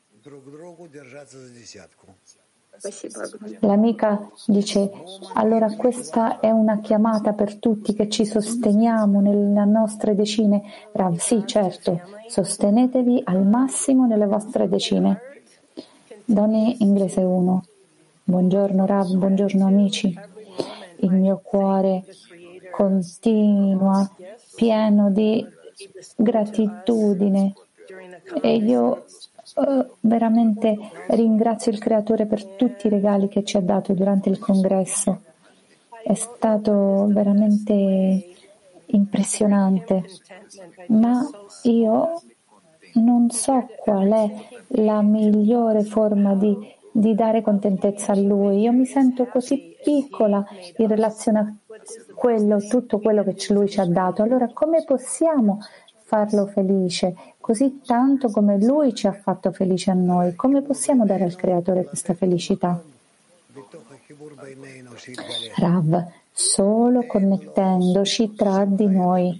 L'amica dice: allora questa è una chiamata per tutti che ci sosteniamo nelle nostre decine. Rav, sì, certo, sostenetevi al massimo nelle vostre decine. Donne Inglese 1. Buongiorno Rav, buongiorno amici. Il mio cuore continua pieno di gratitudine e io veramente ringrazio il Creatore per tutti i regali che ci ha dato durante il congresso. È stato veramente impressionante, ma io non so qual è la migliore forma di dare contentezza a Lui. Io mi sento così piccola in relazione a tutto quello che Lui ci ha dato. Allora come possiamo farlo felice così tanto come Lui ci ha fatto felice a noi? Come possiamo dare al Creatore questa felicità? Rav, solo connettendoci tra di noi,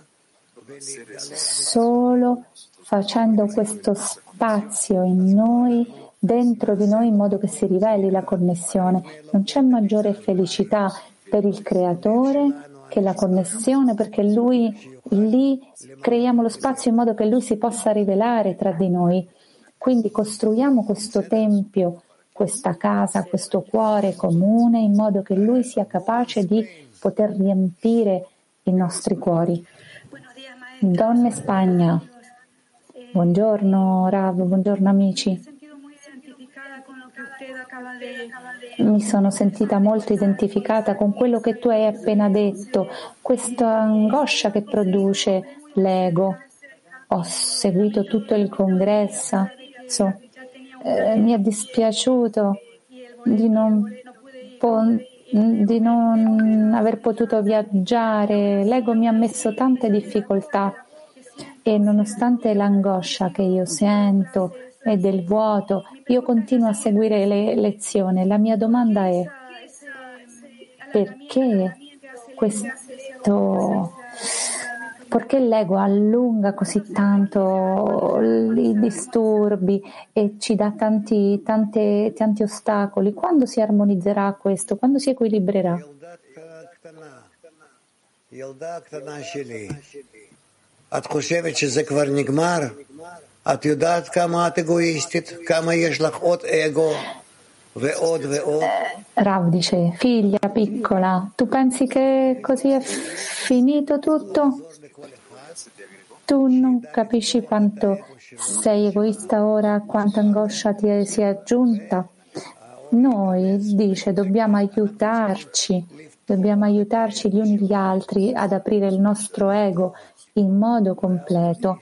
solo facendo questo spazio in noi, dentro di noi, in modo che si riveli la connessione. Non c'è maggiore felicità per il Creatore che la connessione, perché Lui lì creiamo lo spazio in modo che Lui si possa rivelare tra di noi. Quindi costruiamo questo tempio, questa casa, questo cuore comune, in modo che Lui sia capace di poter riempire i nostri cuori. Donne Spagna, buongiorno Rav, buongiorno amici. Mi sono sentita molto identificata con quello che tu hai appena detto, questa angoscia che produce l'ego. Ho seguito tutto il congresso, mi è dispiaciuto di non aver potuto viaggiare. L'ego mi ha messo tante difficoltà e nonostante l'angoscia che io sento e del vuoto, io continuo a seguire le lezioni. La mia domanda è: perché l'ego allunga così tanto i disturbi e ci dà tanti ostacoli? Quando si armonizzerà questo? Quando si equilibrerà? את חושבת שזה כבר נגמר? את יודעת כמה את אגואיסטית? כמה יש לך עוד אגו ועוד ועוד? Rav dice: figlia piccola, tu pensi che così è finito tutto? Tu non capisci quanto sei egoista ora, quanta angoscia ti si è aggiunta? Noi, dice, dobbiamo aiutarci gli uni gli altri ad aprire il nostro ego in modo completo,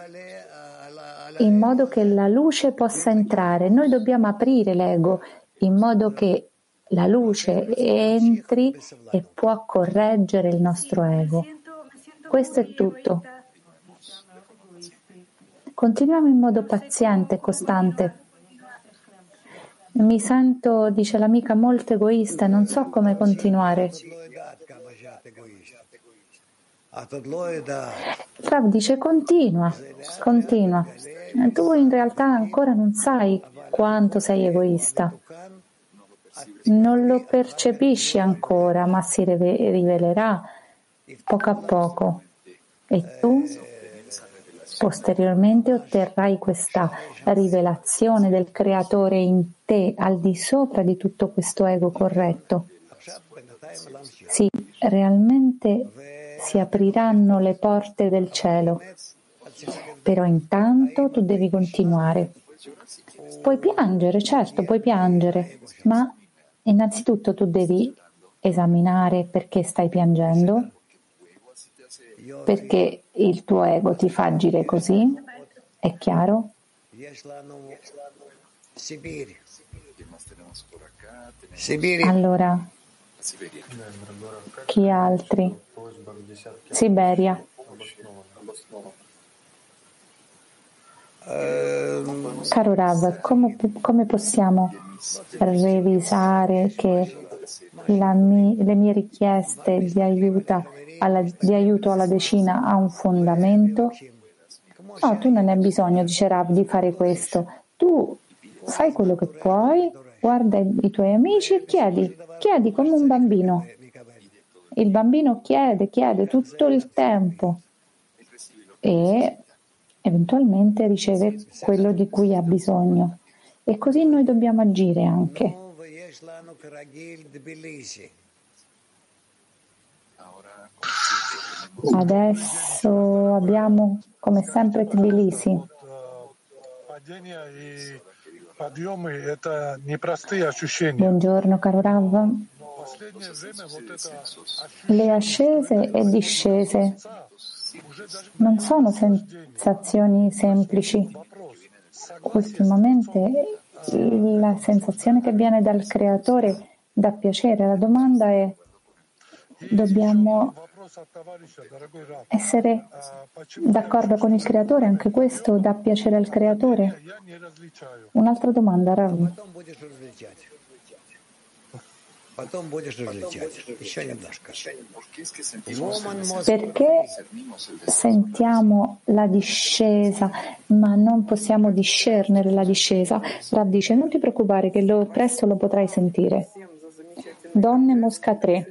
in modo che la luce possa entrare. Noi dobbiamo aprire l'ego in modo che la luce entri e può correggere il nostro ego. Questo è tutto. Continuiamo in modo paziente e costante. Mi sento, dice l'amica, molto egoista, non so come continuare. Rav dice: continua. Tu in realtà ancora non sai quanto sei egoista. Non lo percepisci ancora, ma si rivelerà poco a poco. E tu posteriormente otterrai questa rivelazione del Creatore in te, al di sopra di tutto questo ego corretto. Sì, realmente si apriranno le porte del cielo, però intanto tu devi continuare. Puoi piangere, certo, puoi piangere, ma innanzitutto tu devi esaminare perché stai piangendo, perché il tuo ego ti fa agire così, è chiaro? Allora, chi altri? Siberia. Caro Rav, come possiamo revisare che le mie richieste di aiuto alla decina ha un fondamento? No, tu non hai bisogno, dice Rav, di fare questo. Tu fai quello che puoi, guarda i tuoi amici e chiedi come un bambino. Il bambino chiede tutto il tempo e eventualmente riceve quello di cui ha bisogno. E così noi dobbiamo agire anche. Adesso abbiamo come sempre Tbilisi. Buongiorno caro Rav. Le ascese e discese non sono sensazioni semplici. Ultimamente la sensazione che viene dal Creatore dà piacere. La domanda è: dobbiamo essere d'accordo con il Creatore? Anche questo dà piacere al Creatore? Un'altra domanda, Rav. Perché sentiamo la discesa, ma non possiamo discernere la discesa? Rav dice, non ti preoccupare che presto lo potrai sentire. Donne Mosca 3.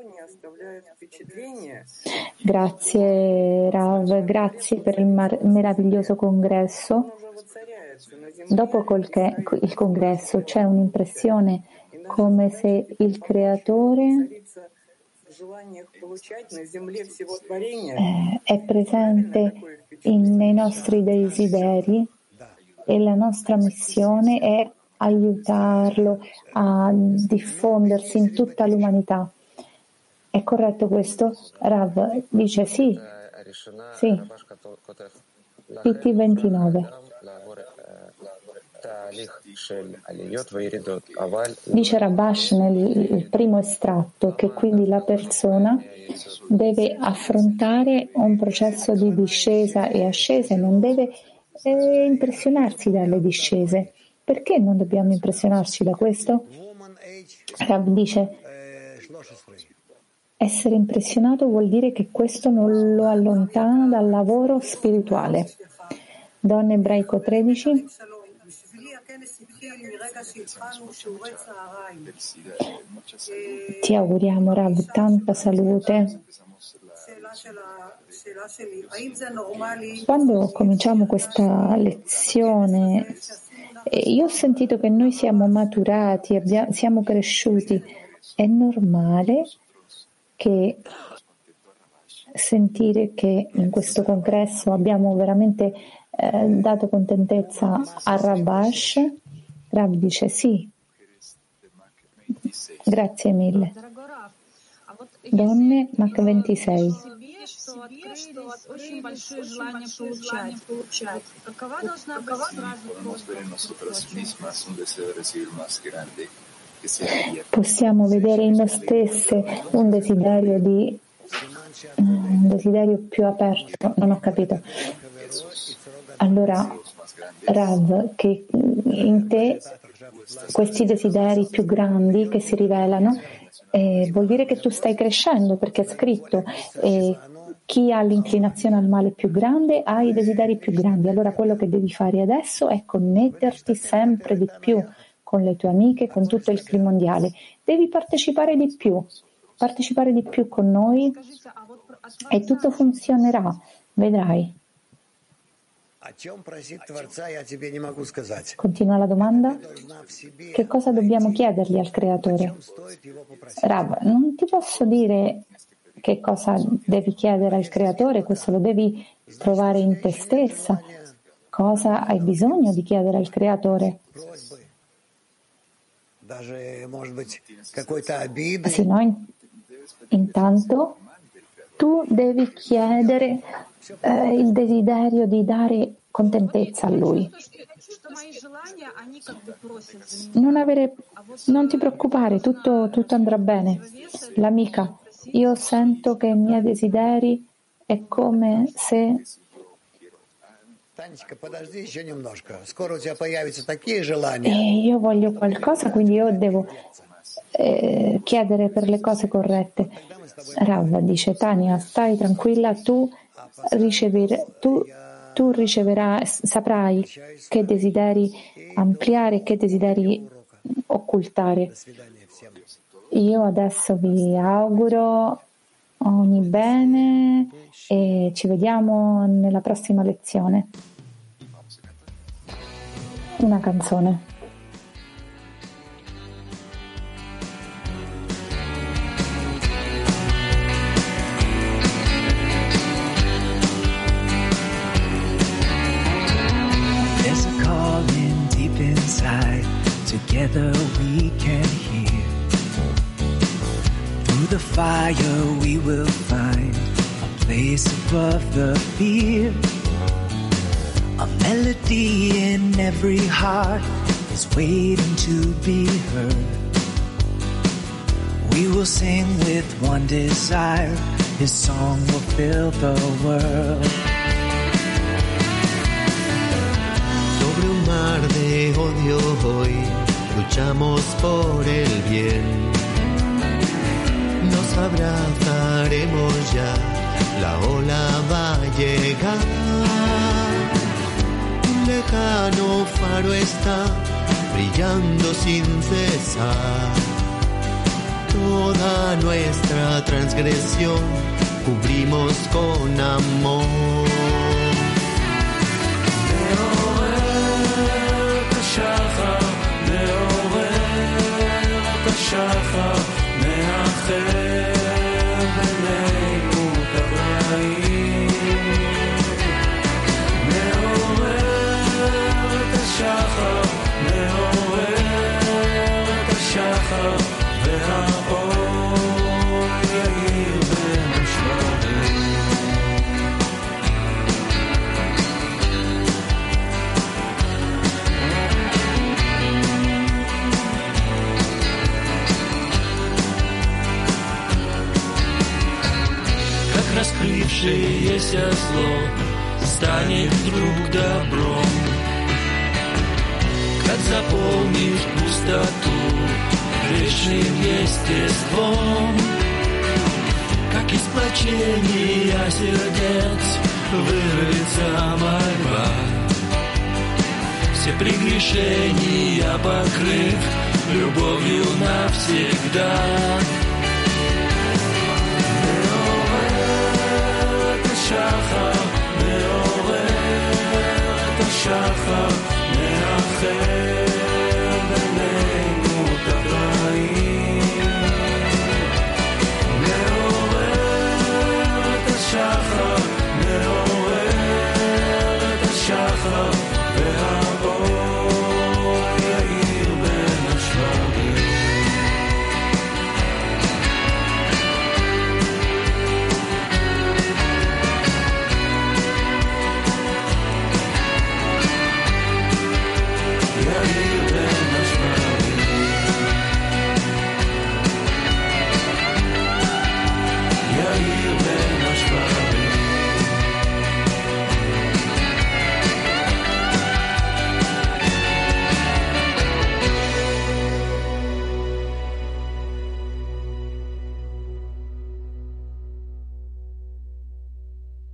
Grazie Rav, grazie per il meraviglioso congresso. Dopo il congresso c'è un'impressione come se il creatore è presente nei nostri desideri e la nostra missione è aiutarlo a diffondersi in tutta l'umanità. È corretto questo? Rav dice sì. Sì. PT 29. Dice Rabash nel primo estratto che quindi la persona deve affrontare un processo di discesa e ascesa e non deve impressionarsi dalle discese. Perché non dobbiamo impressionarci da questo? Rav dice essere impressionato vuol dire che questo non lo allontana dal lavoro spirituale. Donna Ebraico 13. Ti auguriamo Rav tanta salute. Quando cominciamo questa lezione io ho sentito che noi siamo maturati, siamo cresciuti. È normale che sentire che in questo congresso abbiamo veramente dato contentezza a Rabash. Rav dice sì. Grazie mille. Donne Mach 26. Possiamo vedere in noi stesse un desiderio più aperto. Non ho capito. Allora, Rav, che in te questi desideri più grandi che si rivelano vuol dire che tu stai crescendo, perché è scritto chi ha l'inclinazione al male più grande ha i desideri più grandi. Allora quello che devi fare adesso è connetterti sempre di più con le tue amiche, con tutto il clima mondiale. Devi partecipare di più con noi e tutto funzionerà, vedrai. Continua la domanda. Che cosa dobbiamo chiedergli al creatore? Rav, non ti posso dire che cosa devi chiedere al creatore, questo lo devi trovare in te stessa. Cosa hai bisogno di chiedere al creatore? Sì, no? Intanto tu devi chiedere il desiderio di dare contentezza a lui. Non ti preoccupare, tutto andrà bene. L'amica, io sento che i miei desideri è come se... io voglio qualcosa, quindi io devo chiedere per le cose corrette. Rav dice, Tania, stai tranquilla, tu riceverai, saprai che desideri ampliare e che desideri occultare. Io adesso vi auguro ogni bene e ci vediamo nella prossima lezione. Una canzone. Together we can hear. Through the fire we will find a place above the fear. A melody in every heart is waiting to be heard. We will sing with one desire, His song will fill the world. Sobre un mar de odio hoy luchamos por el bien. abrazaremos ya, la ola va a llegar. Un lejano faro está brillando sin cesar. Toda nuestra transgresión cubrimos con amor. שחר מאחר בינינו את הרעים, מעורר את השחר, מעורר את השחר, והאור יאיר בין השלבים. Раскрывшееся зло станет вдруг добром, как заполнишь пустоту грешным естеством, как из сплочения сердец вырвется мольба, все прегрешения покрыв любовью навсегда. שחר מעורר את השחר